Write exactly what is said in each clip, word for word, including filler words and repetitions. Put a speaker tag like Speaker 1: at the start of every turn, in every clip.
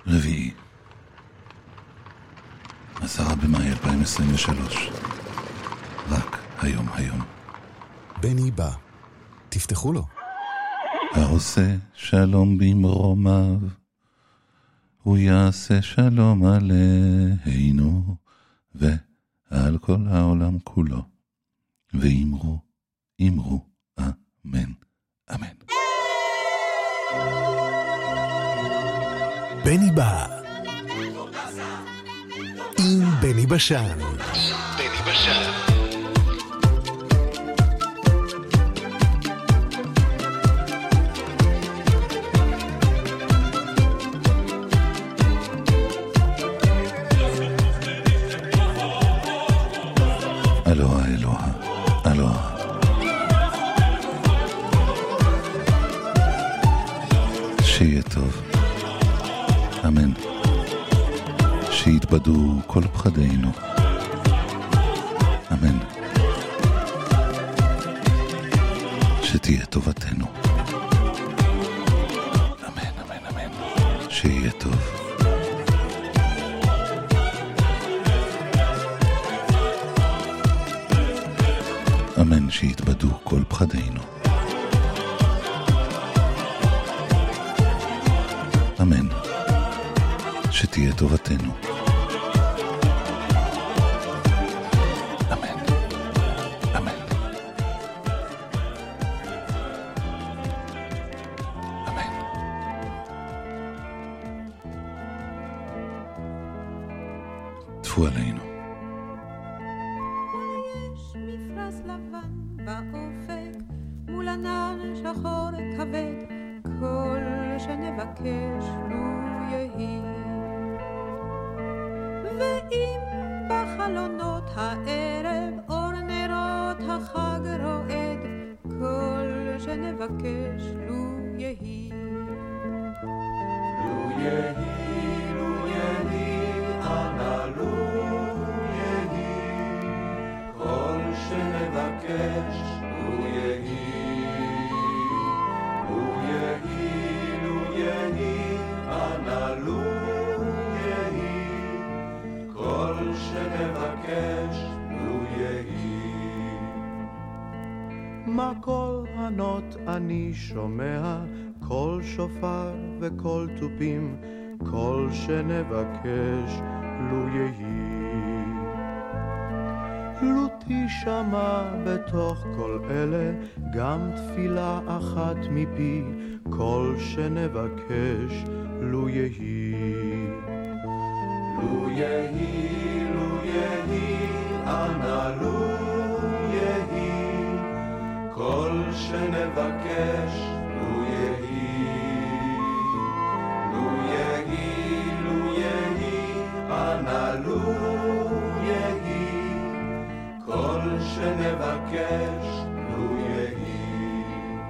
Speaker 1: רביעי, עשרה במאי אלפיים עשרים ושלוש. רק היום היום.
Speaker 2: בני בא, תפתחו לו.
Speaker 1: העושה שלום במרומיו, הוא יעשה שלום עלינו ועל כל העולם כולו. ואמרו, אמרו, אמן, אמן.
Speaker 2: בני בא עם בני בשן. בני בשן.
Speaker 1: אלוהה, אלוהה, אלוהה. שיהיה טוב. אמן. שיתבדו כל פחדינו. אמן. שתהיה טובתנו. אמן, אמן, אמן. שיהיה טוב. אמן, שיתבדו כל פחדינו. אמן. שתהיה טובתנו. אמן. אמן. אמן. טפו עלינו.
Speaker 3: יש מפרש לבן באופק, מול ענן שחור כבד, כל שנבקש לו יהי. ואם בחלונות הערב אור נרות החג רועד, כל שנבקש לו יהי.
Speaker 4: לו יהי, לו יהי, אנא לו יהי, כל שנבקש לו יהי. לו יהי, לו יהי, אנא לו שנבקש לו יהי. מה כל ענות אני שומע, כל שופר וכל תופים, כל שנבקש לו יהי. לו תשמע בתוך כל אלה גם תפילה אחת מפי, כל שנבקש לו יהי. לו יהי, לו יהי, אנא לו יהי, כל שנבקש לו יהי. לו יהי, לו יהי, אנא לו יהי, כל שנבקש לו יהי.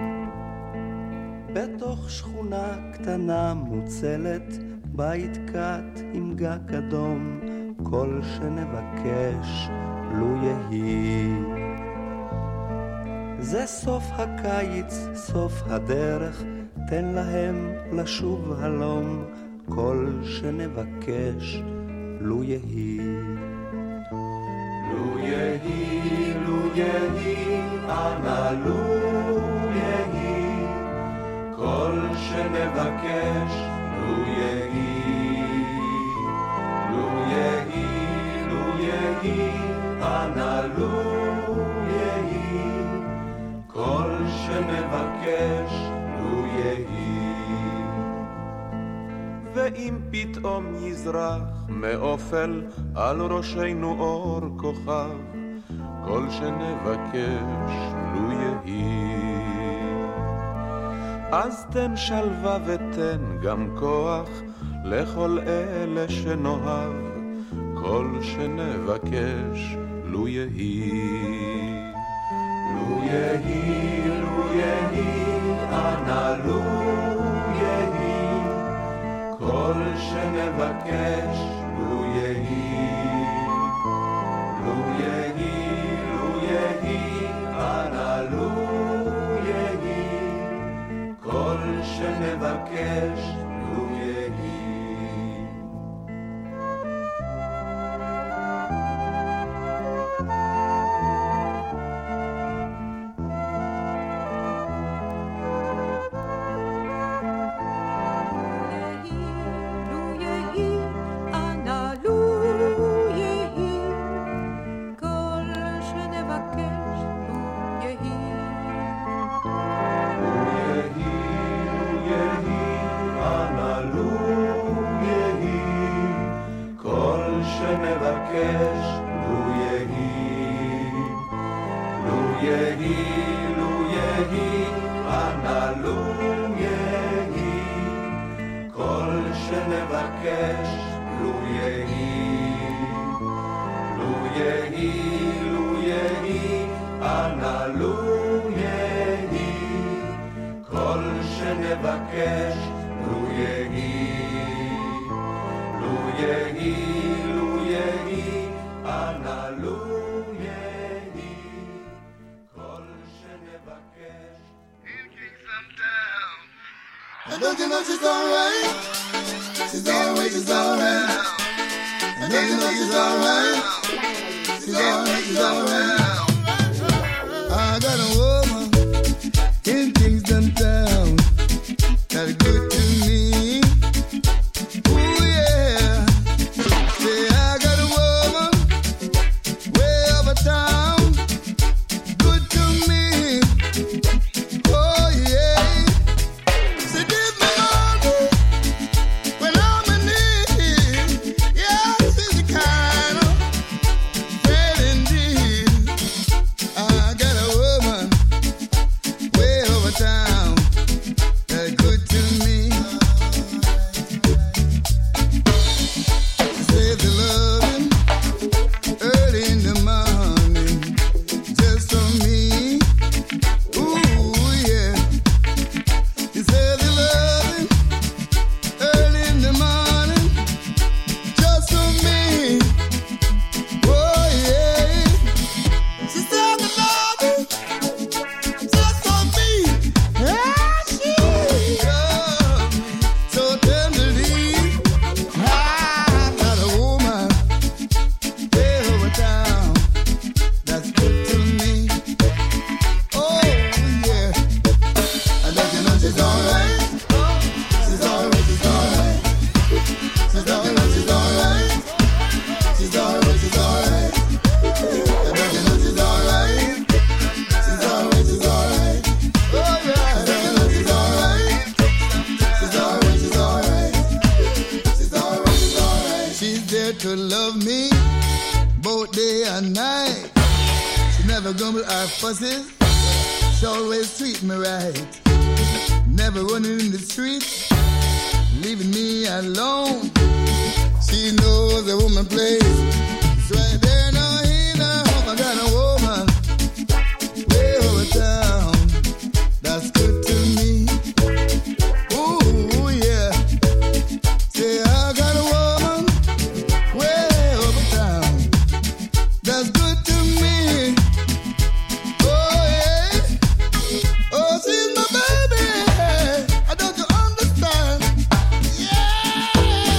Speaker 5: בתוך שכונה קטנה מוצלת, בית קט עם גג אדום, כל שנבקש לו יהי. זה סוף הקיץ, סוף הדרך, תן להם לשוב הלום, כל שנבקש לו יהי.
Speaker 4: לו יהי, לו יהי, אנא לו יהי, כל שנבקש לו יהי. לו יהי, לו יהי, אנא לו יהי, כל שנבקש לו יהי. ואם פתאום יזרח מאופל על ראשנו אור כוכב, כל שנבקש לו יהי. אז תן שלווה ותן גם כוח לכל אלה שנאהב, כל שנבקש לו יהי. לו יהי, לו יהי, אנא לו יהי, כל שנבקש לו יהי. לו יהי, לו יהי, אנא לו יהי, כל שנבקש לו יהי.
Speaker 5: שנבקש, לו יהי, לו יהי, לו יהי, אנא לו יהי, כל שנבקש, לו יהי, לו יהי, לו יהי, אנא לו יהי, כל שנבקש.
Speaker 6: And don't you know she's alright? She's alright, she's alright. And don't you know she's alright? She's alright, she's alright. I got a woman in Kingston town that's good to me. Ooh yeah. Say I got a woman way over town, good to me. Oh yeah. She give me money when I'm in need. Yeah, she's the kind of friend indeed. I got a woman way over town that's good to me. She says the loving early in the morning just for me. Ooh yeah. She says the loving early in the morning just for me. Oh yeah. She said the loving just for me. Yeah, she loved me so tenderly. I got a woman way over town that's good to me. Oh yeah. And don't you know she's alright? She's alright, she's alright. She's alright, she's alright. She's alright, she's alright. And don't you know she's alright? She's alright, she's alright. Oh yeah. And don't you know she's alright? She's alright, she's alright. She's alright, she's alright. She's there to love me both day and night. She never grumble or fusses. She always treat me right. Never running in the streets, leaving me alone. She knows a woman place. It's right there, no he no. I got a woman way over town that's good to me. Ooh yeah. Say I got a woman way over town that's good to me. Oh yeah. Oh, she's my baby. I don't you understand? Yeah,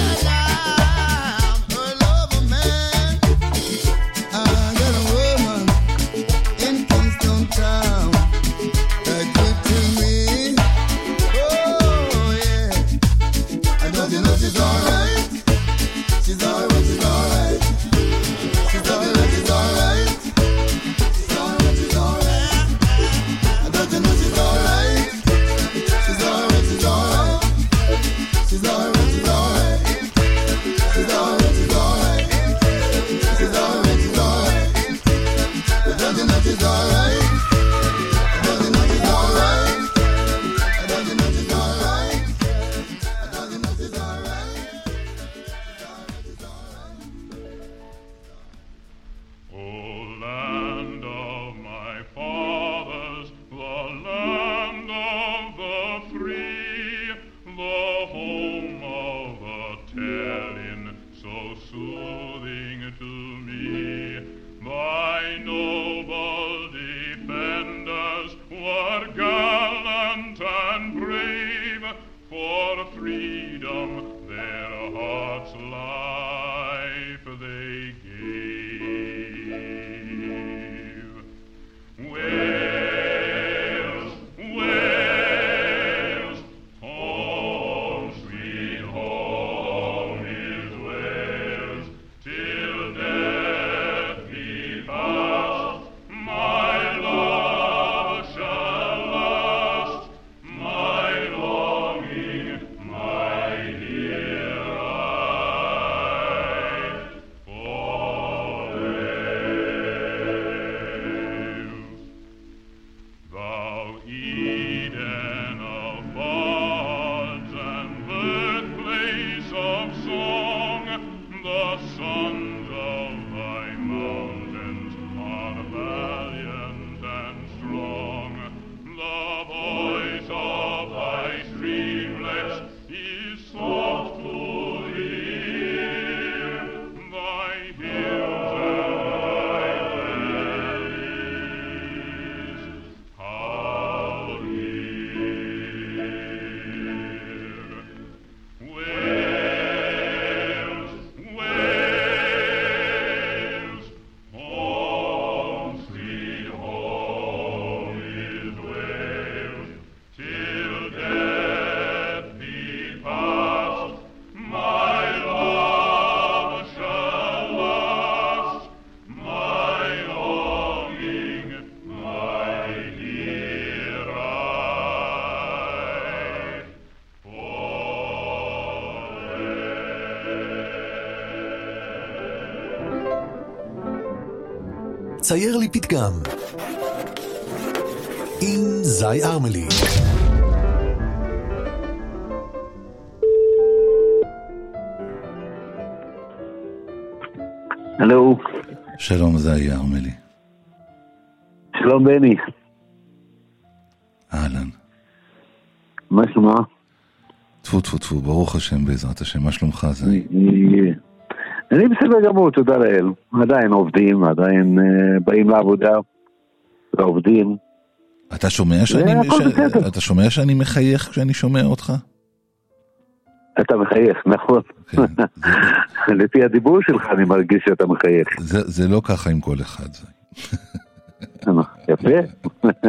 Speaker 6: I'm her lover, man. I got a woman in Kingston town that's good to me. Oh yeah. And don't you know she's alright? She's alright, she's alright. She's alright, she's alright. She's alright, she's alright. And don't you know she's alright? She's alright, she's alright. She's alright, she's alright. She's alright, she's alright. She's alright, she's alright. And don't you know she's alright? And don't you know she's alright? And don't you know she's alright? And don't you know she's alright?
Speaker 7: O land of my fathers, the land of the free, the home of the telling, so soothing to me. Thy noble defenders were gallant and brave, for freedom their hearts' life they gave. Wales, Wales, home sweet home is Wales, till death be past, my love shall last, my longing, my dear
Speaker 2: צייר לי פתגם עם זי ארמלי.
Speaker 8: הלו.
Speaker 1: שלום, זי ארמלי.
Speaker 8: שלום בני.
Speaker 1: אהלן.
Speaker 8: מה שלומך?
Speaker 1: טפו טפו טפו, ברוך השם בעזרת השם. מה שלומך זי?
Speaker 8: אני בסדר גמור, תודה לאל. עדיין עובדים, עדיין באים לעבודה ועובדים.
Speaker 1: אתה שומע שאני אתה שומע שאני מחייך כשאני שומע אותך?
Speaker 8: אתה מחייך, נכון. לפי הדיבור שלך אני מרגיש שאתה מחייך.
Speaker 1: זה לא ככה עם כל אחד זי.
Speaker 8: יפה.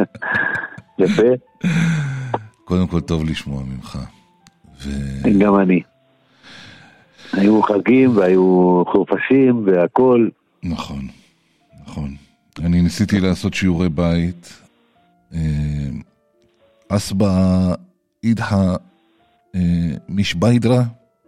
Speaker 8: יפה.
Speaker 1: קודם כל טוב לשמוע ממך.
Speaker 8: גם אני. היו חגים והיו חופשים והכל.
Speaker 1: נכון, נכון. אני ניסיתי לעשות שיעורי בית. אסבא אידחה משביידרה.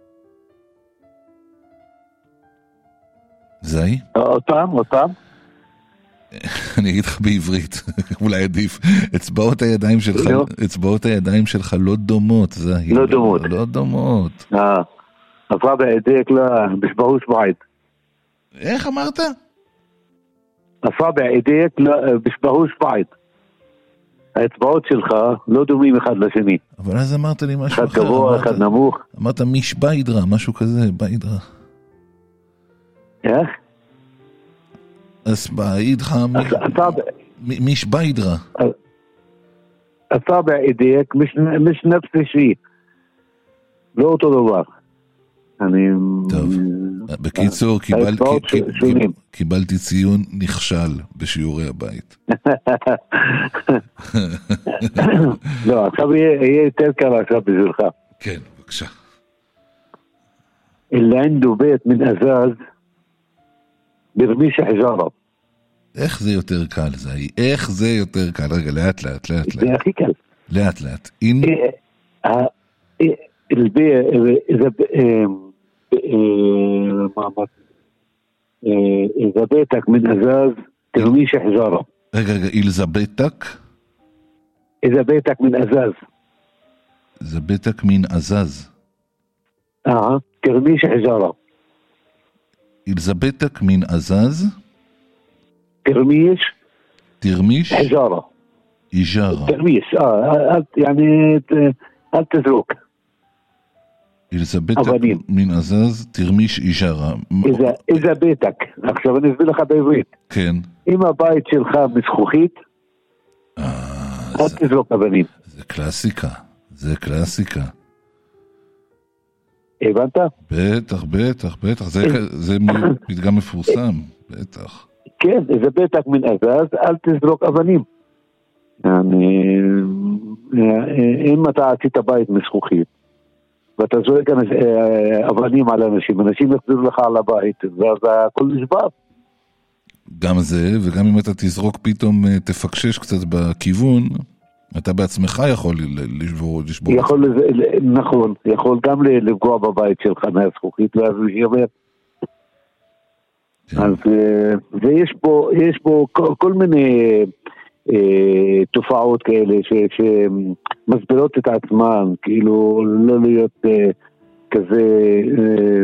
Speaker 1: זי?
Speaker 8: אותם, אותם.
Speaker 1: אני אגיד לך בעברית, אולי עדיף. אצבעות הידיים שלך, אצבעות הידיים שלך לא דומות, זי.
Speaker 8: לא דומות.
Speaker 1: לא דומות.
Speaker 8: אה. אצבע ידייך לה בשבעו שבעית.
Speaker 1: איך אמרת?
Speaker 8: אצבע ידייך לה בשבעו שבעית. האצבעות שלך לא דומים אחד לשני.
Speaker 1: אבל אז אמרת לי משהו
Speaker 8: אחד אחר. אחד גבוה, אחד נמוך.
Speaker 1: אמרת משביידרה, משהו כזה, ביידרה.
Speaker 8: איך?
Speaker 1: אסבע אידך משביידרה.
Speaker 8: אצבע ידייך מש נפס שי. לא אותו דבר. אני...
Speaker 1: טוב, בקיצור, קיבלתי, קיבלתי ציון נכשל בשיעורי הבית.
Speaker 8: לא, עכשיו יהיה יותר קל עכשיו בשבילך.
Speaker 1: כן, בבקשה.
Speaker 8: اللي عنده بيت من أزاز برميش حجارة.
Speaker 1: איך זה יותר קל זה? איך זה יותר קל? רגע, לאט לאט, לאט לאט.
Speaker 8: זה הכי קל.
Speaker 1: לאט לאט. אין...
Speaker 8: البيع إذا إذا بيتك من أزاز ترميش حجارة.
Speaker 1: רגע רגע, إذا بيتك
Speaker 8: إذا بيتك من أزاز
Speaker 1: إذا بيتك من أزاز
Speaker 8: آه ترميش حجارة.
Speaker 1: إذا بيتك من أزاز
Speaker 8: ترميش
Speaker 1: ترميش
Speaker 8: حجارة.
Speaker 1: إجارة.
Speaker 8: ترميش آه يعني هل تزرق.
Speaker 1: إذا بيتك من أزاز ترميش إجارة.
Speaker 8: إذا إذا بيتك עכשיו אני אסביר לך בעברית.
Speaker 1: כן.
Speaker 8: אם הבית שלך מזכוכית, אל תזרוק אבנים.
Speaker 1: זה קלאסיקה. זה קלאסיקה.
Speaker 8: הבנת?
Speaker 1: בטח, בטח, בטח. זה פתגם מפורסם. בטח.
Speaker 8: כן, איזה בטח מן אזז, אל תזרוק אבנים. אם אתה עשית בית מזכוכית, ואתה זורק אבנים על אנשים, אנשים יחזרו לך על הבית, ואז הכל נשבר.
Speaker 1: גם זה, וגם אם אתה תזרוק פתאום, תפקשש קצת בכיוון, אתה בעצמך יכול לשבור.
Speaker 8: יכול, נכון, יכול גם לפגוע בבית שלך מהזכוכית, ואז הוא ישבר. אז, ויש פה, יש פה כל, כל מיני אה, תופעות כאלה ש, שמסבירות את עצמן, כאילו לא להיות אה, כזה, אה,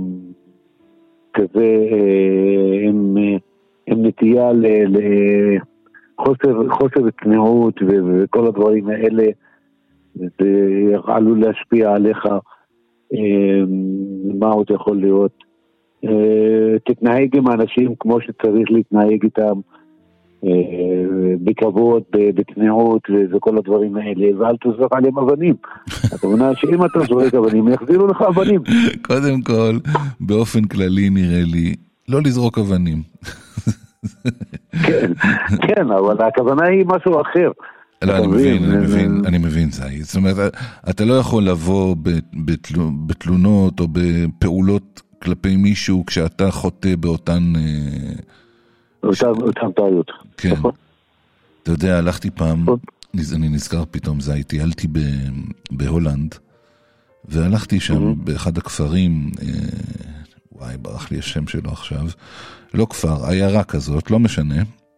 Speaker 8: כזה אה, עם, עם נטייה לחוסר, חוסר תנאות וכל הדברים האלה, זה עלול להשפיע עליך, אה, מה עוד יכול להיות. תתנהג עם האנשים כמו שצריך להתנהג איתם, בכבוד, בתנאות וכל הדברים האלה, ואל תזרוק עליהם אבנים. אתה מבינה שאם אתה זורק אבנים יחזירו לך אבנים.
Speaker 1: קודם כל, באופן כללי נראה לי לא לזרוק אבנים.
Speaker 8: כן, כן, אבל הכוונה היא משהו אחר.
Speaker 1: לא, אני מבין, אני מבין, אני מבין, זי. זאת אומרת, אתה לא יכול לבוא בתלונות או בפעולות כלפי מישהו כשאתה חוטא באותן...
Speaker 8: אותן טעויות.
Speaker 1: כן. אתה יודע, הלכתי פעם, אני נזכר פתאום, זה טיילתי בהולנד, והלכתי שם באחד הכפרים, וואי, ברח לי השם שלו עכשיו, לא כפר, עיירה כזאת, לא משנה,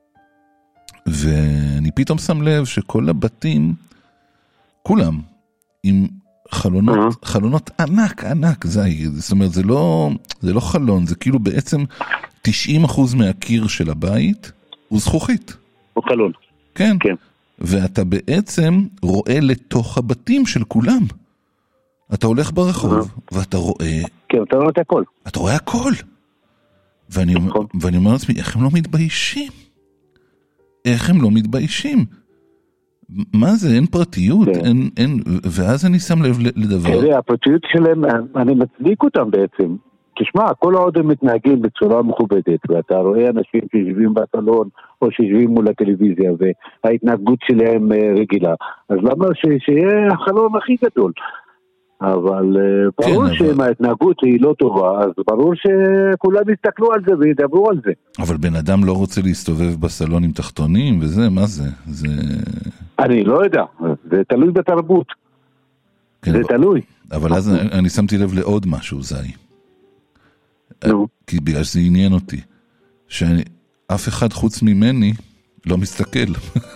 Speaker 1: ואני פתאום שם לב שכל הבתים, כולם, עם חלונות, uh-huh. חלונות ענק, ענק, זה, זאת אומרת, זה לא, זה לא חלון, זה כאילו בעצם תשעים אחוז מהקיר של הבית, הוא זכוכית.
Speaker 8: הוא חלון.
Speaker 1: כן.
Speaker 8: כן.
Speaker 1: ואתה בעצם רואה לתוך הבתים של כולם. אתה הולך ברחוב, uh-huh. ואתה רואה...
Speaker 8: כן, אתה רואה את הכל.
Speaker 1: אתה רואה הכל. ואני, נכון. ואני אומר לעצמי, איך הם לא מתביישים? איך הם לא מתביישים? מה זה? אין פרטיות? כן. אין, אין... ואז אני שם לב לדבר...
Speaker 8: תראה, הפרטיות שלהם, אני מצדיק אותם בעצם. תשמע, כל עוד הם מתנהגים בצורה מכובדת, ואתה רואה אנשים שיושבים בסלון, או שיושבים מול הטלוויזיה, וההתנהגות שלהם רגילה, אז למה ש- שיהיה החלום הכי גדול? אבל כן, ברור אבל... שאם ההתנהגות היא לא טובה, אז ברור שכולם יסתכלו על זה וידברו על זה.
Speaker 1: אבל בן אדם לא רוצה להסתובב בסלון עם תחתונים, וזה, מה זה? זה...
Speaker 8: אני לא יודע, זה תלוי בתרבות. כן, זה אבל... תלוי.
Speaker 1: אבל אז אני, אני שמתי לב לעוד משהו, זי.
Speaker 8: נו.
Speaker 1: כי בגלל שזה עניין אותי, שאף אחד חוץ ממני לא מסתכל.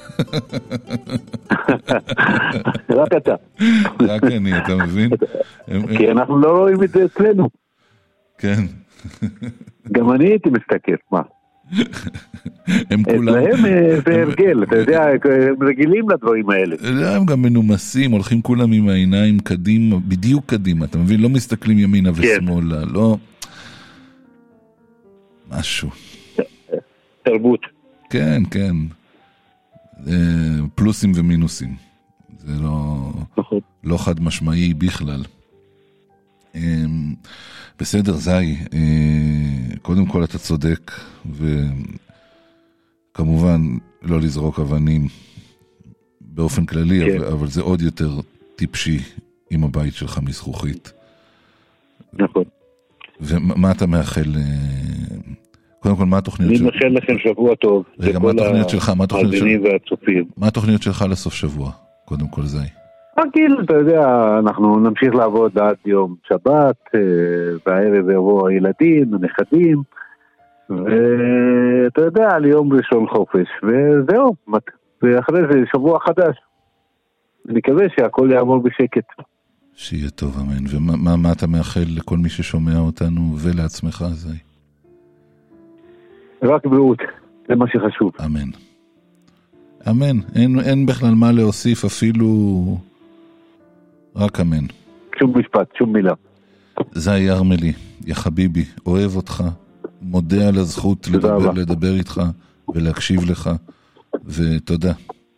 Speaker 8: רק אתה.
Speaker 1: רק אני, אתה מבין?
Speaker 8: כי אנחנו לא רואים את זה אצלנו.
Speaker 1: כן.
Speaker 8: גם אני הייתי מסתכל, מה?
Speaker 1: הם כולם...
Speaker 8: אצלהם זה הרגל, אתה יודע, הם רגילים לדברים האלה.
Speaker 1: הם גם מנומסים, הולכים כולם עם העיניים קדימה, בדיוק קדימה, אתה מבין? לא מסתכלים ימינה ושמאלה, לא... משהו.
Speaker 8: תרבות.
Speaker 1: כן, כן. פלוסים ומינוסים. זה לא, לא חד משמעי בכלל. בסדר, זי, קודם כל אתה צודק, וכמובן לא לזרוק אבנים באופן כללי, כן. אבל, אבל זה עוד יותר טיפשי עם הבית שלך מזכוכית.
Speaker 8: נכון.
Speaker 1: ומה אתה מאחל... קודם כל, מה התוכניות שלך?
Speaker 8: אני מאחל לכם שבוע טוב.
Speaker 1: רגע, מה התוכניות שלך? מה התוכניות
Speaker 8: שלך?
Speaker 1: מה התוכניות שלך לסוף שבוע? קודם כל, זי.
Speaker 8: רגיל, אתה יודע, אנחנו נמשיך לעבוד עד יום שבת, בערב יבוא הילדים, הנכדים, ואתה יודע, על יום ראשון חופש, וזהו, ואחרי זה שבוע חדש. אני מקווה שהכל יעבור בשקט.
Speaker 1: שיהיה טוב, אמן. ומה מה אתה מאחל לכל מי ששומע אותנו ולעצמך, זי?
Speaker 8: רק בריאות, זה מה שחשוב.
Speaker 1: אמן. אמן. אין, אין בכלל מה להוסיף, אפילו רק אמן.
Speaker 8: שום משפט, שום מילה.
Speaker 1: זי ירמלי, יא חביבי, אוהב אותך, מודה על הזכות לדבר, לדבר איתך ולהקשיב לך, ותודה.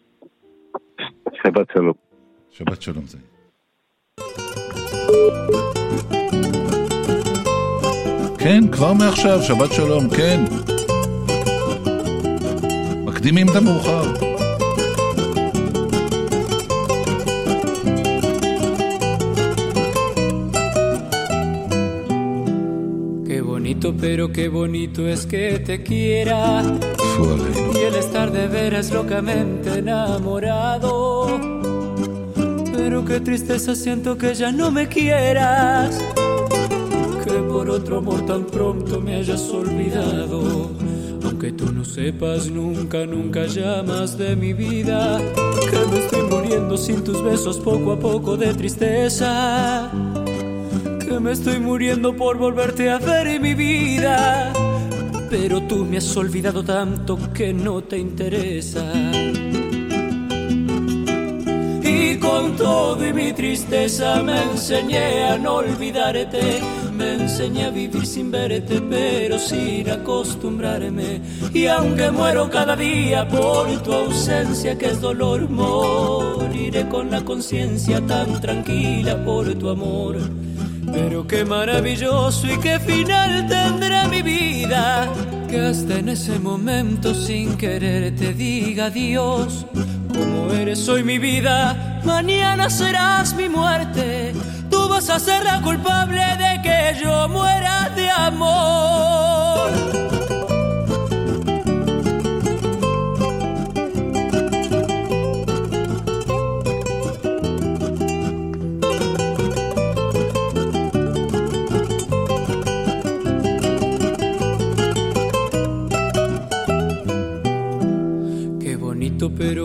Speaker 8: שבת שלום.
Speaker 1: שבת שלום, זי. כן, כבר מעכשיו, שבת שלום, כן. מקדימים את המאוחר.
Speaker 9: Qué bonito, pero qué bonito es que te quiera. Y el estar de veras locamente enamorado. Pero qué tristeza siento que ya no me quieras. Que por otro amor tan pronto me hayas olvidado. Aunque tú no sepas nunca, nunca llamas de mi vida. Que me estoy muriendo sin tus besos poco a poco de tristeza. Que me estoy muriendo por volverte a ver en mi vida. Pero tú me has olvidado tanto que no te interesa. Y con todo y mi tristeza me enseñé a no olvidarte. Me enseñé a vivir sin verte, pero sin acostumbrarme. Y aunque muero cada día por tu ausencia, que es dolor, moriré con la conciencia tan tranquila por tu amor. Pero qué maravilloso y qué final tendrá mi vida, que hasta en ese momento sin querer te diga adiós. Como eres hoy mi vida, mañana serás mi muerte. Tú vas a ser la culpable de que yo muera de amor.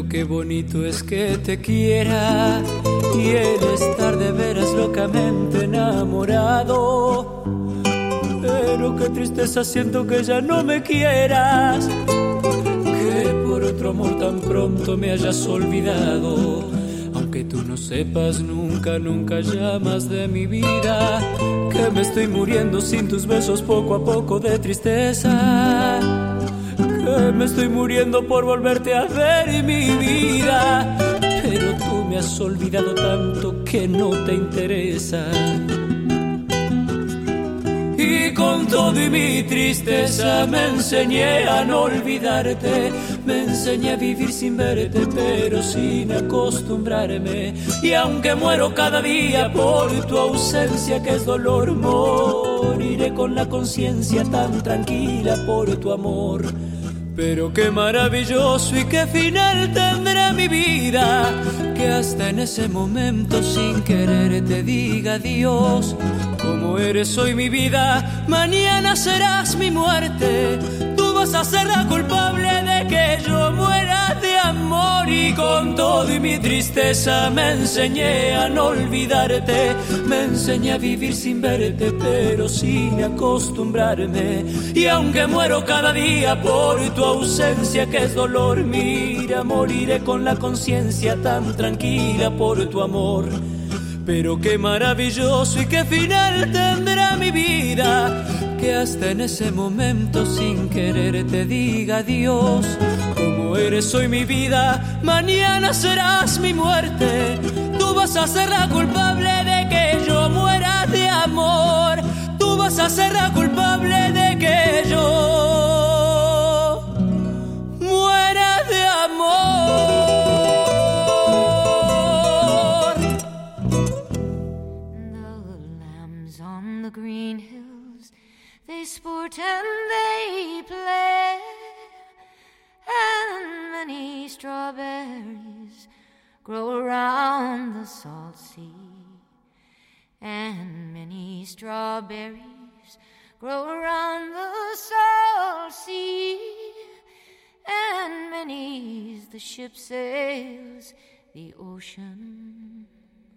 Speaker 9: Pero qué bonito es que te quiera y el estar de veras locamente enamorado. Pero qué tristeza siento que ya no me quieras, que por otro amor tan pronto me hayas olvidado. Aunque tú no sepas nunca, nunca llamas de mi vida, que me estoy muriendo sin tus besos poco a poco de tristeza, que me estoy muriendo por volverte a ver en mi vida. Pero tú me has olvidado tanto que no te interesa. Y con todo y mi tristeza me enseñé a no olvidarte, me enseñé a vivir sin verte, pero sin acostumbrarme. Y aunque muero cada día por tu ausencia, que es dolor, moriré con la conciencia tan tranquila por tu amor. Pero qué maravilloso y qué final tendrá mi vida, que hasta en ese momento sin querer te diga adiós. Como eres hoy mi vida, mañana serás mi muerte. Tú vas a ser la culpable de que yo muera de amor. Y con todo y mi tristeza me enseñé a no olvidarte, me enseñé a vivir sin verte, pero sin acostumbrarme. Y aunque muero cada día por tu ausencia, que es dolor, mira, moriré con la conciencia tan tranquila por tu amor. Pero qué maravilloso y qué final tendrá mi vida, que hasta en ese momento sin querer te diga adiós. Como eres hoy mi vida, mañana serás mi muerte. Tú vas a ser la culpable de que yo muera de amor. Tú vas a ser la culpable de que yo muera de amor.
Speaker 10: The green hills, they sport and they play, and many strawberries grow around the salt sea, and many strawberries grow around the salt sea, and many's the ship sails the ocean.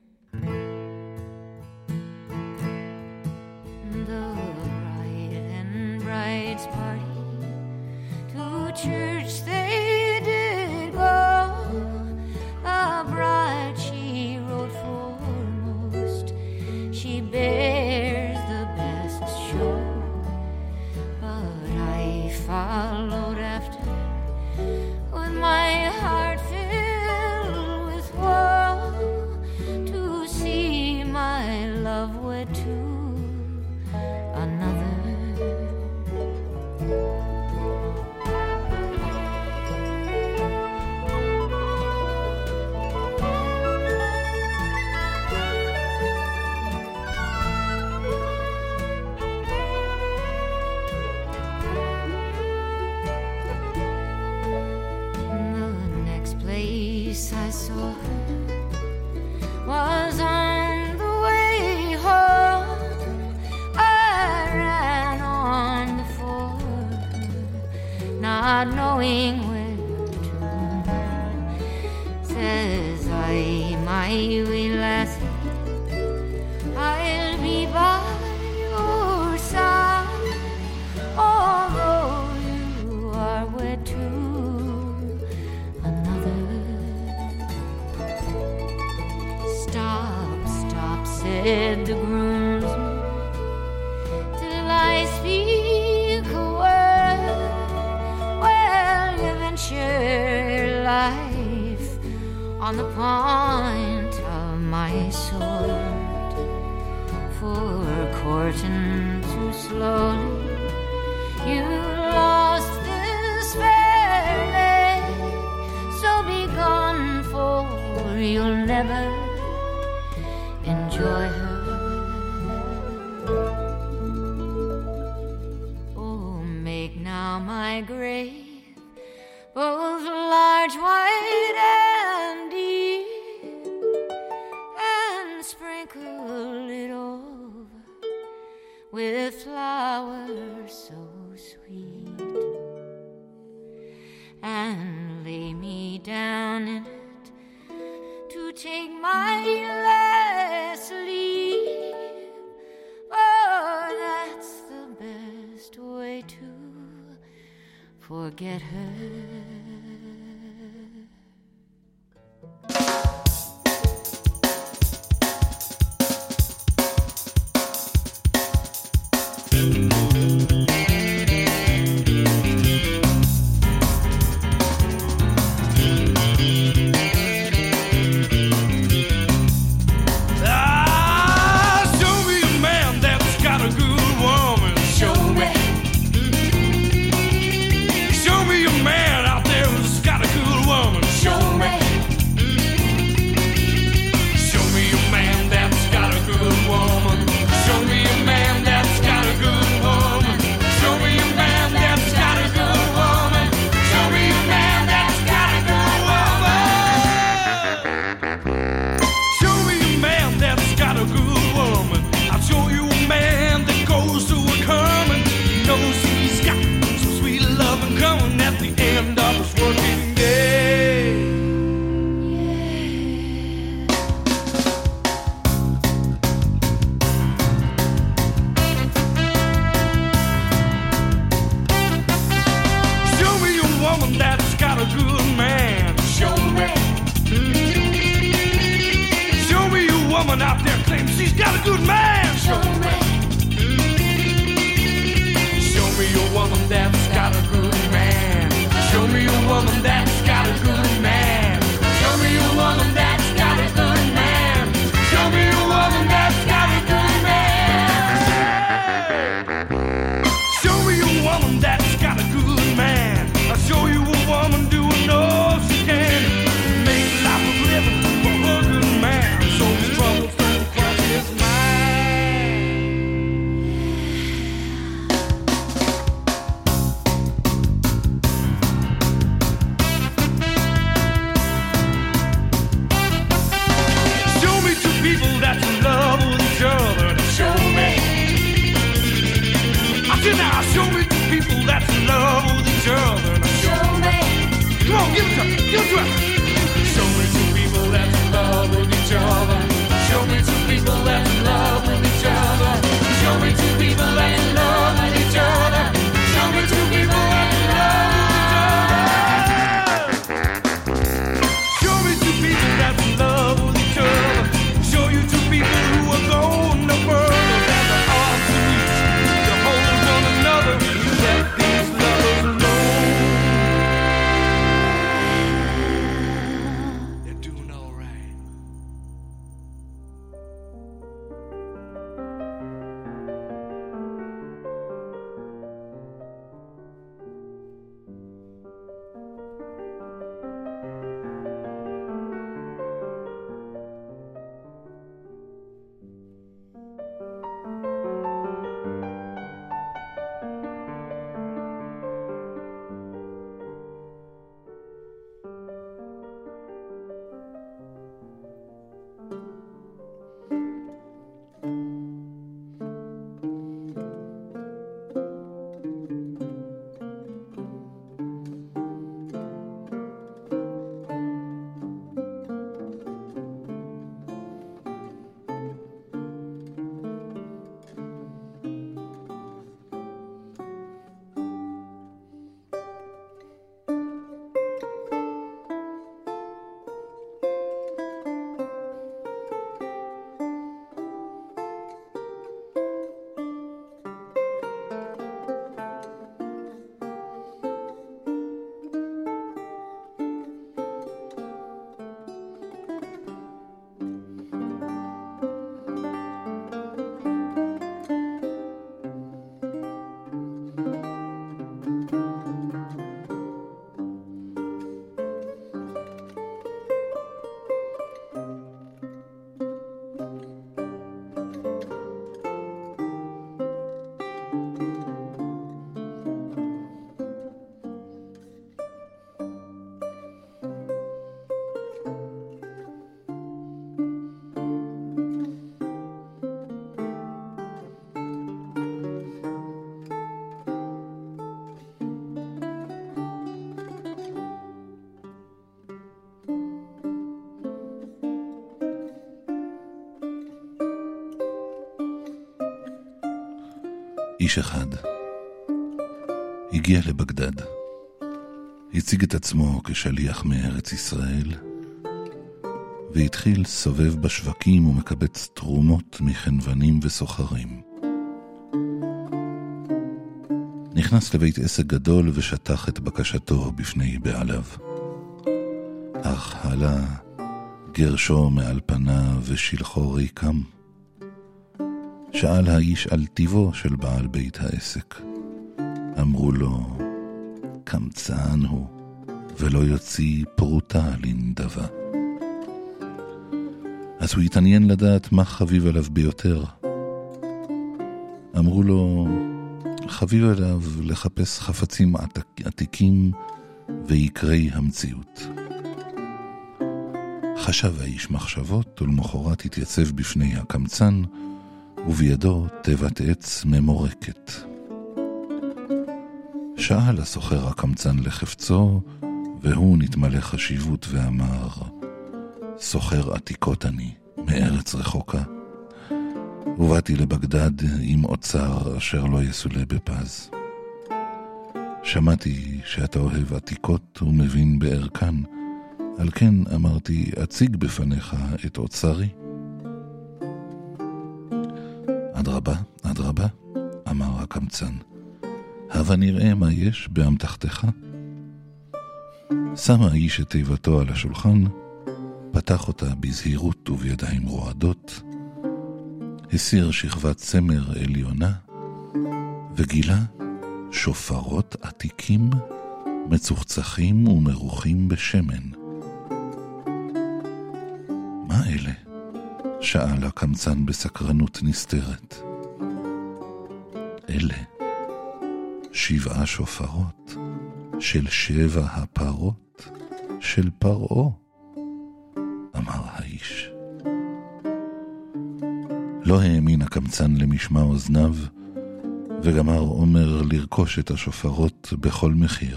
Speaker 10: The bride and bride's party to church they did go. The bride she rode foremost, she bears the best show. But I followed after with my heart filled with woe, to see my love wed to another. The next place I saw her was on the way home. I ran on before her, not knowing where to. Says I, my wee lassie, I'll be by your side, although you are wed to another. Stop, stop, said the groomsman, till I speak a word. Well, you venture life on the point of my sword, for courting too slowly you lost this fair lady. So be gone, for you'll never enjoy her. Oh, make now my grave both large, white, and deep, and sprinkle it over with flowers so sweet, and lay me down down in it to take my last leave. Oh, that's the best way to forget her.
Speaker 11: Show me a man out there
Speaker 1: איש אחד הגיע לבגדד, הציג את עצמו כשליח מארץ ישראל, והתחיל סובב בשווקים ומקבץ תרומות מחנוונים וסוחרים. נכנס לבית עסק גדול ושטח את בקשתו בפני בעליו. אך עלה גרשו מעל פניו ושלחו ריקם. שאל האיש על טיבו של בעל בית העסק. אמרו לו, קמצן הוא, ולא יוציא פרוטה לנדבה. אז הוא התעניין לדעת מה חביב עליו ביותר. אמרו לו, חביב עליו לחפש חפצים עתיקים ויקרי המציאות. חשב האיש מחשבות, ולמחרת התייצב בפני הקמצן, ובידו תיבת עץ ממורקת. שאל הסוחר הקמצן לחפצו, והוא נתמלא חשיבות ואמר, סוחר עתיקות אני, מארץ רחוקה. ובאתי לבגדד עם אוצר אשר לא יסולה בפז. שמעתי שאתה אוהב עתיקות ומבין בערכן, על כן אמרתי, אציג בפניך את אוצרי. אדרבה, אדרבה, אמר הקמצן, הבה נראה מה יש באמתחתך. שם האיש את תיבתו על השולחן, פתח אותה בזהירות ובידיים רועדות, הסיר שכבת צמר עליונה, וגילה שופרות עתיקים, מצוחצחים ומרוחים בשמן. מה אלה? שאל הקמצן בסקרנות נסתרת. אלה שבעה שופרות של שבע הפרות של פרעה, אמר האיש. לא האמין הקמצן למשמע אוזניו, וגמר אומר לרכוש את השופרות בכל מחיר.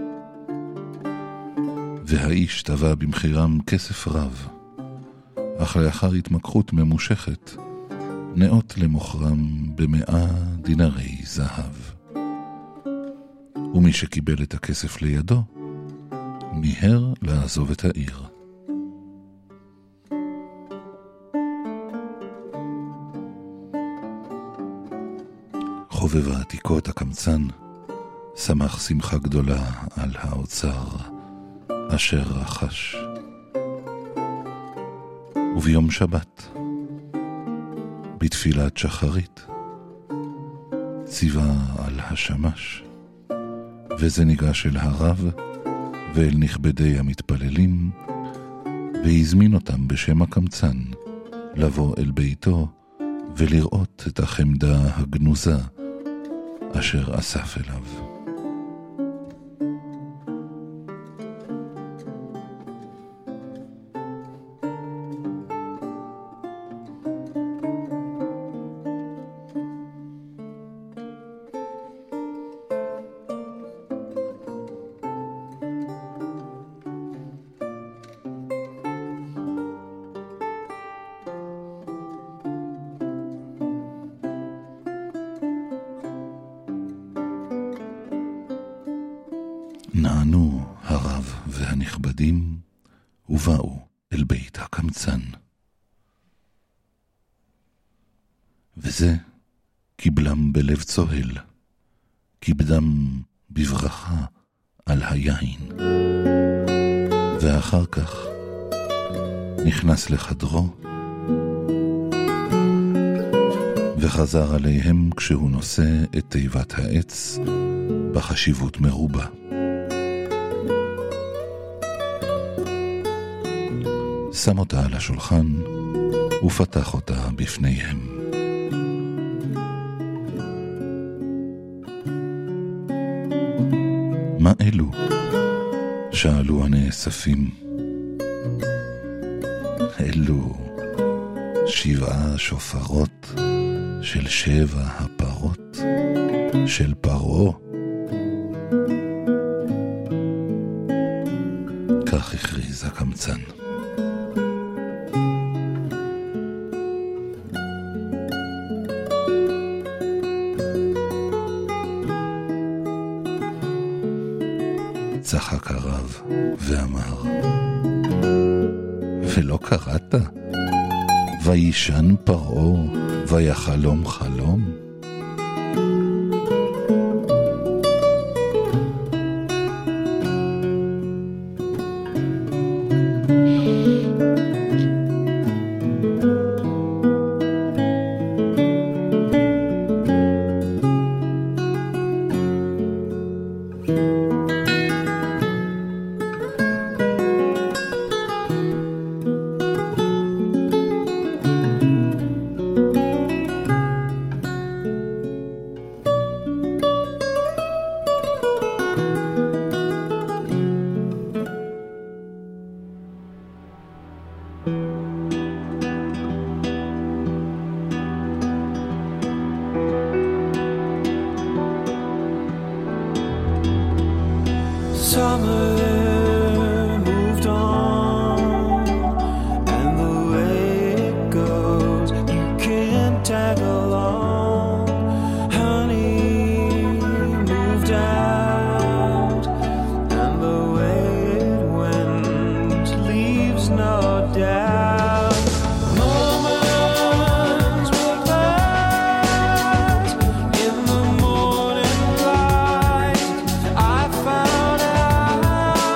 Speaker 1: והאיש טבע במחירם כסף רב, אך לאחר התמקחות ממושכת, נאות למוכרם במאה דינרי זהב. ומי שקיבל את הכסף לידו, מיהר לעזוב את העיר. חובב העתיקות הקמצן שמח שמחה גדולה על האוצר אשר רכש. וביום שבת, בתפילת שחרית, ציווה על השמש, וזה ניגש אל הרב ואל נכבדי המתפללים, והזמין אותם בשם הקמצן לבוא אל ביתו ולראות את החמדה הגנוזה אשר אסף אליו. נענו הרב והנכבדים ובאו אל בית הקמצן. וזה קיבלם בלב צוהל, כיבדם בברכה על היין. ואחר כך נכנס לחדרו וחזר עליהם כשהוא נושא את תיבת העץ בחשיבות מרובה. שם אותה על השולחן ופתח אותה בפניהם. מה אלו? שאלו הנאספים. אלו שבעה שופרות של שבע הפרות של פרעה. כך הכריז הקמצן. צחק הרב ואמר, ולא קראת? וישן פרעה ויחלום חלום?
Speaker 9: I found out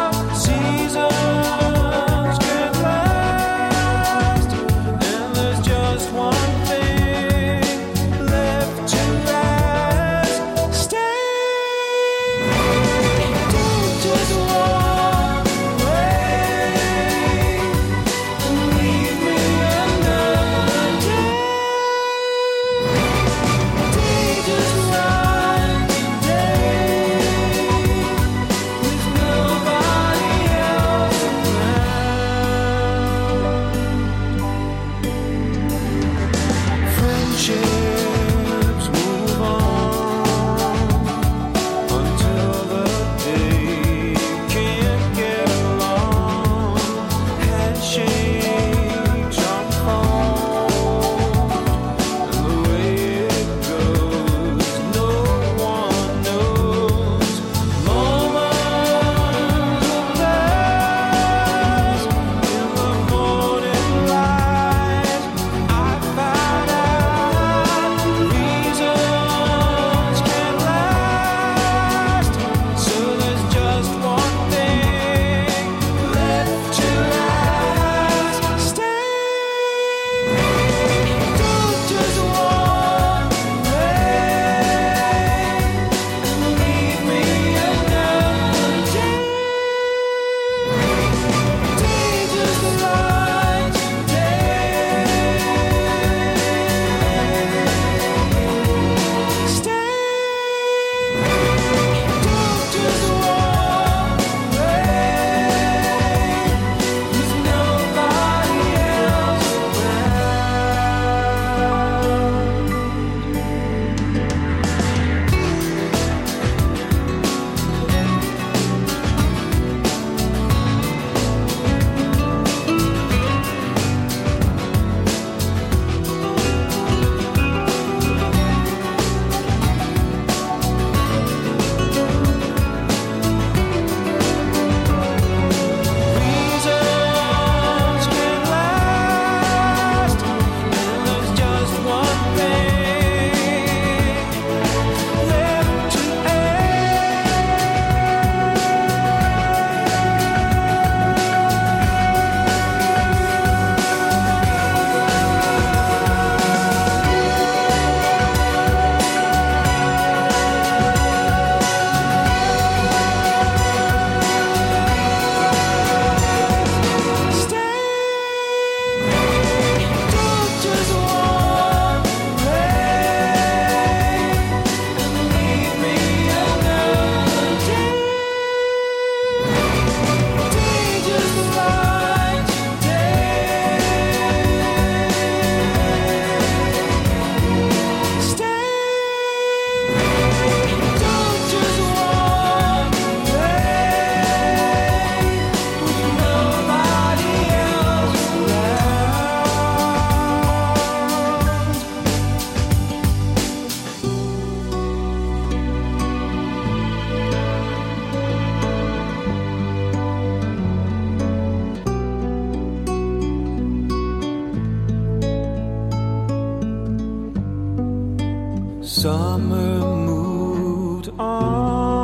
Speaker 11: Summer moved on.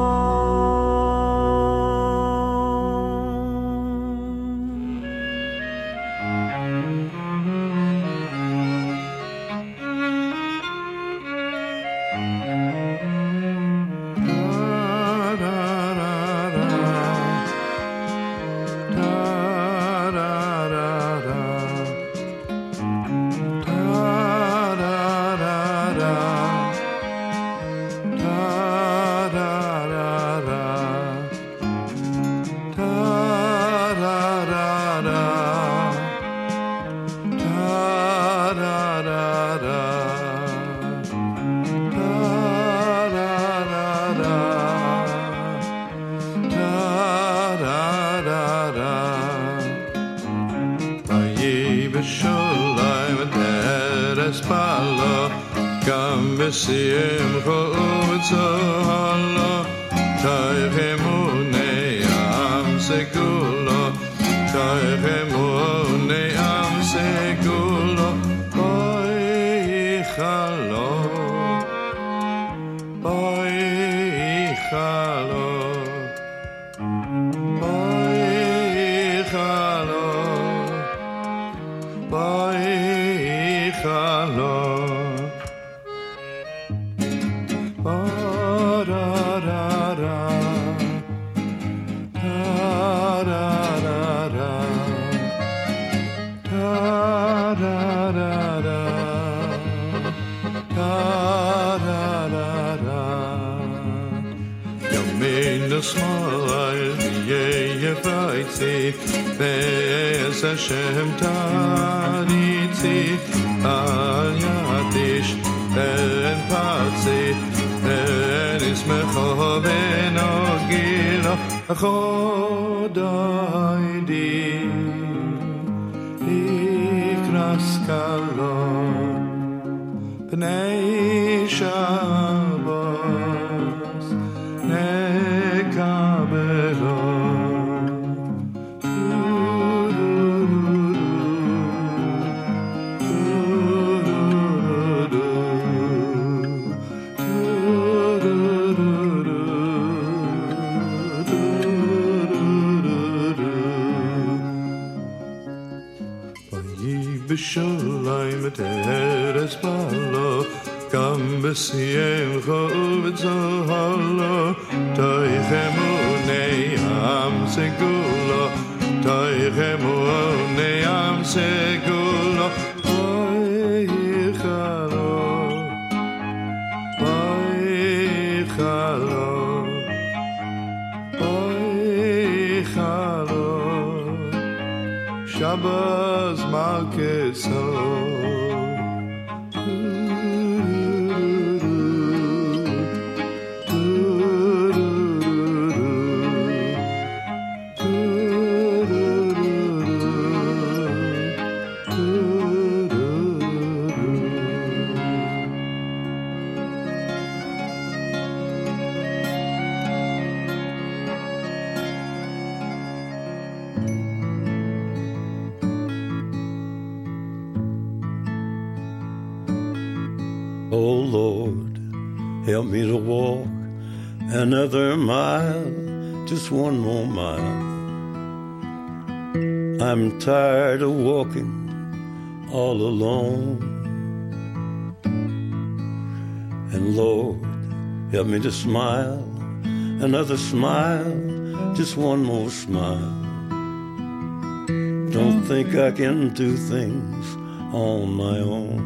Speaker 12: Hashem tariti al yadish ben patzi ben ismecho ben ogilo chodai di ikras kalon bnei Shabbos nekabelon. B'shalayim teres balo, gam b'siyem chol v'zohalo, toichemu ne'am segulo, toichemu ne'am segulo, oichalo, oichalo, oichalo, Shabbos Malkeso.
Speaker 13: Oh Lord, help me to walk another mile, just one more mile. I'm tired of walking all alone. And Lord, help me to smile, another smile, just one more smile. Don't think I can do things on my own.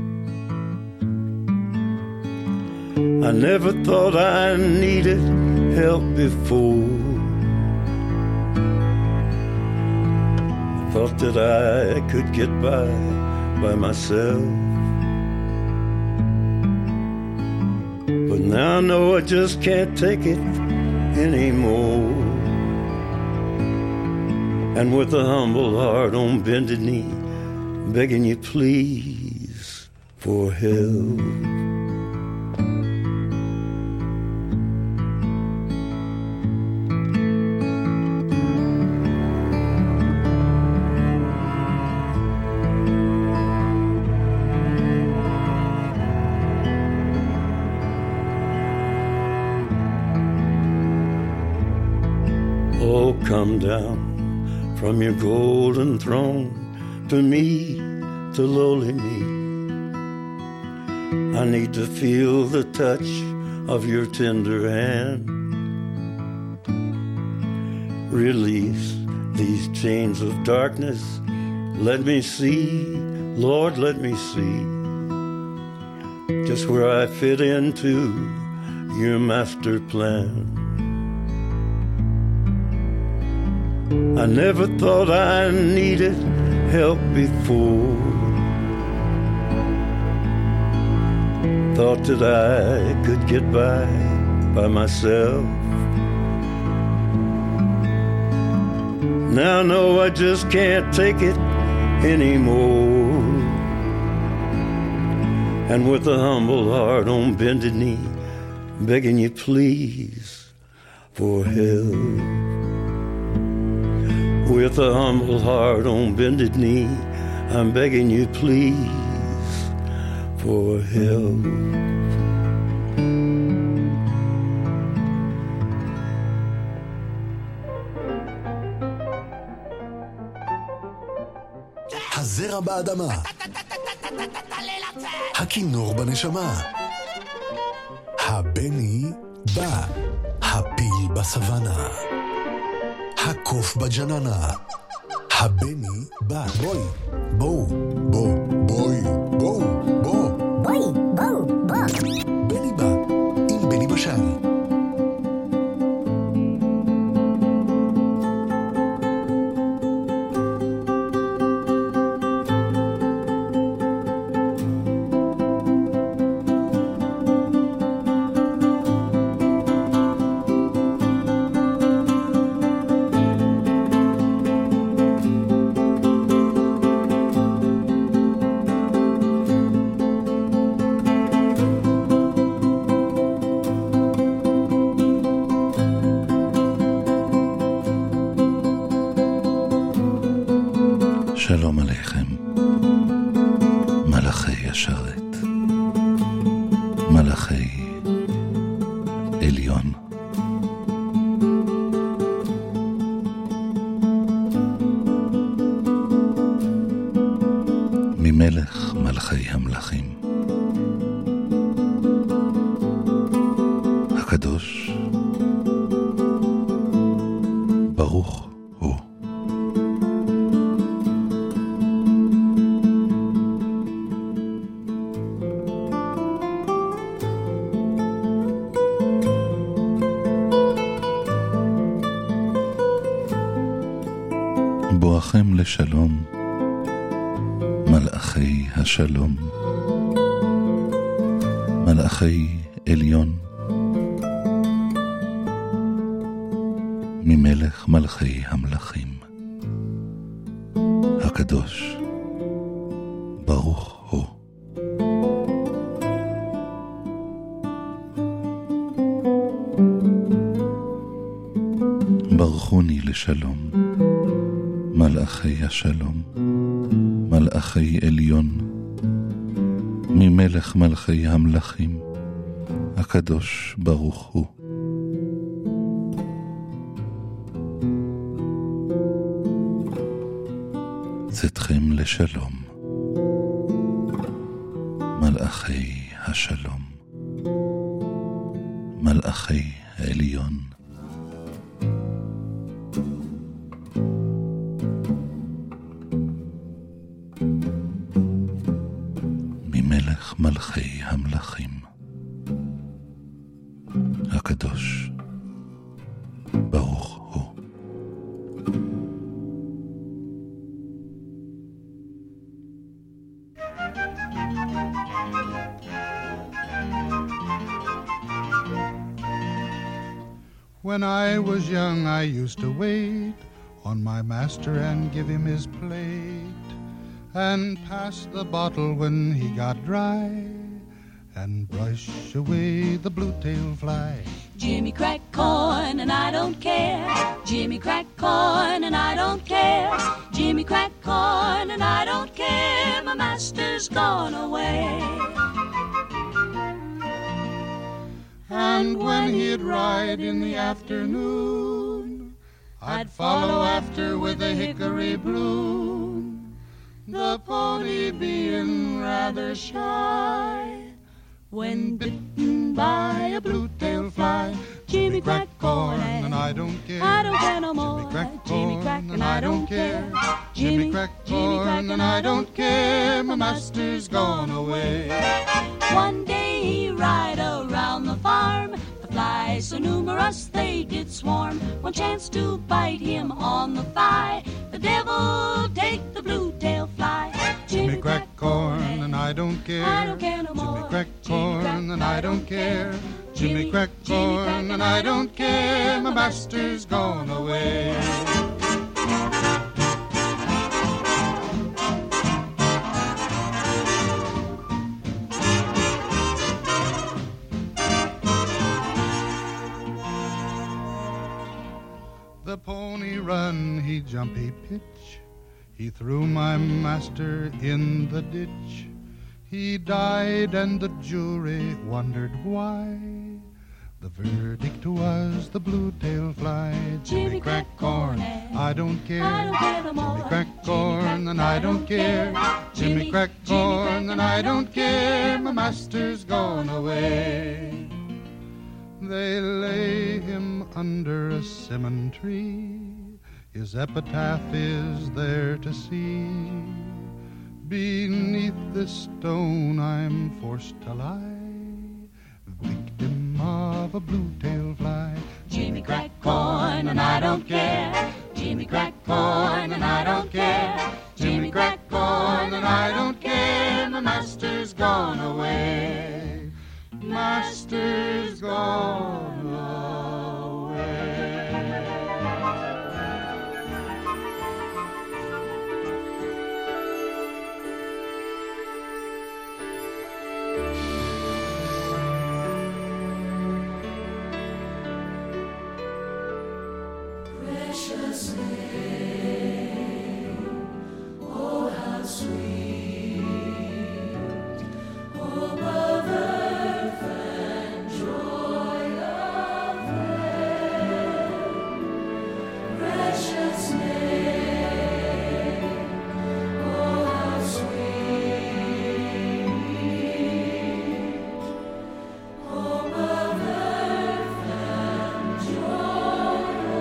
Speaker 13: I never thought I needed help before. I thought that I could get by by myself. But now I know I just can't take it anymore. And with a humble heart on bended knee, begging you please for help. come down from your golden throne to me, to lowly me. I need to feel the touch of your tender hand. Release these chains of darkness. Let me see, Lord, let me see just where I fit into your master plan. I never thought I needed help before. Thought that I could get by by myself. Now I know I just can't take it anymore. And with a humble heart on bended knee, begging you please for help. With a humble heart on bended knee, I'm begging you please for help.
Speaker 2: הזרע באדמה, הכינור בנשמה, הבני בא, הפיל בסוואנה, הקוף בג'ננה, הבני בא. בואי, בואו, בואו, בואי, בואו, בואו, בואי, בואו, בואו. בני בא, עם בני בשן.
Speaker 1: שלום עליכם, מלאכי השרת, מלאכי עליון. ממלך מלכי המלכים, הקדוש ברוך הוא. בואכם לשלום, מלאכי השלום, מלאכי עליון, ממלך מלכי המלכים, הקדוש ברוך הוא. ברכוני לשלום, מלאכי השלום, מלאכי עליון, ממלך מלכי המלכים, הקדוש ברוך הוא. צאתכם לשלום, מלאכי השלום, מלאכי העליון. ממלך מלכי המלכים, הקדוש ברוך הוא.
Speaker 14: When I was young, I used to wait on my master and give him his plate, and pass the bottle when he got dry, and brush away the blue-tail fly.
Speaker 9: Jimmy crack corn and I don't care. Jimmy crack corn and I don't care. Jimmy crack corn and I don't care. My master's gone away.
Speaker 14: And when he'd ride in the afternoon, I'd follow after with a hickory bloom, the pony being rather shy. When bitten by a blue-tailed fly, Jimmy cracked corn and I don't care. I don't care no more. Jimmy cracked corn and I don't care. Jimmy cracked corn and I don't care. My master's gone away.
Speaker 9: One day he ride around the farm. The flies so numerous they did swarm. One chance to bite him on the thigh. The devil take the blue-tailed fly.
Speaker 14: Jimmy cracked corn and I don't care.
Speaker 9: I don't care no more.
Speaker 14: Jimmy cracked corn and I don't care. Jimmy cracked corn and I don't care. My master's gone away. The pony run, he jump, he pitch. He threw my master in the ditch. He died and the jury wondered why. The verdict was the blue-tailed fly. Jimmy cracked corn, I don't care.
Speaker 9: I don't care no more.
Speaker 14: Jimmy cracked corn and I don't care. Jimmy cracked corn and I don't care. My master's gone away. They lay him under a cinnamon tree. His epitaph is there to see. Beneath this stone I'm forced to lie, victim of a blue-tailed fly.
Speaker 9: Jimmy cracked corn and I don't care. Jimmy cracked corn and I don't care.
Speaker 14: Jimmy cracked corn and I don't care. My master's gone away. Master's gone away.
Speaker 9: Precious name, oh how sweet, hope of earth and joy of heaven. Precious name, oh how sweet, hope of earth and joy.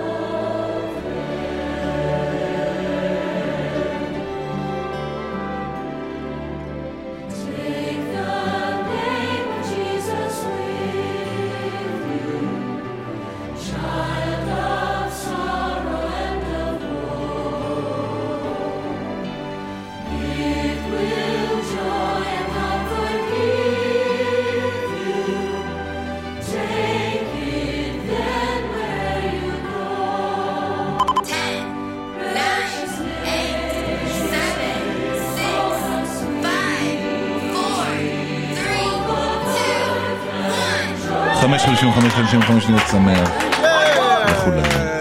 Speaker 1: חמש שלושים וחמש שלושים וחמש שניות שמח לכולם.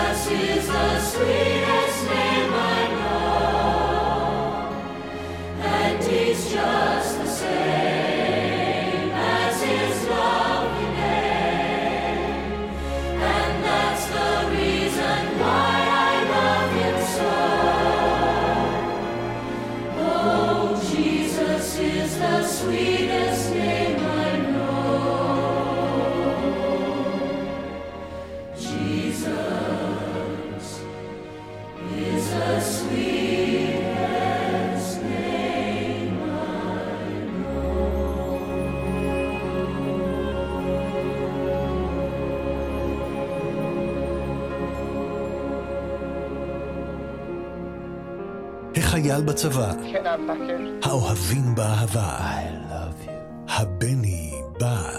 Speaker 2: החייל בצבא, האוהבים באהבה, הבני בא.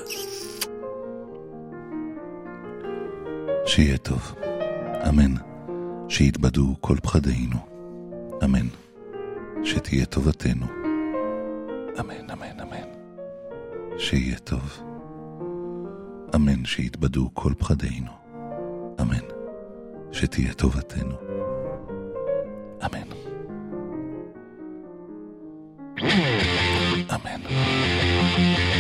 Speaker 1: שיהיה טוב, אמן. שיתבדו כל פחדינו, אמן. שתהיה טובתנו, אמן, אמן, אמן. שיהיה טוב, אמן. שיתבדו כל פחדינו, אמן. שתהיה טובתנו, אמן. אמן.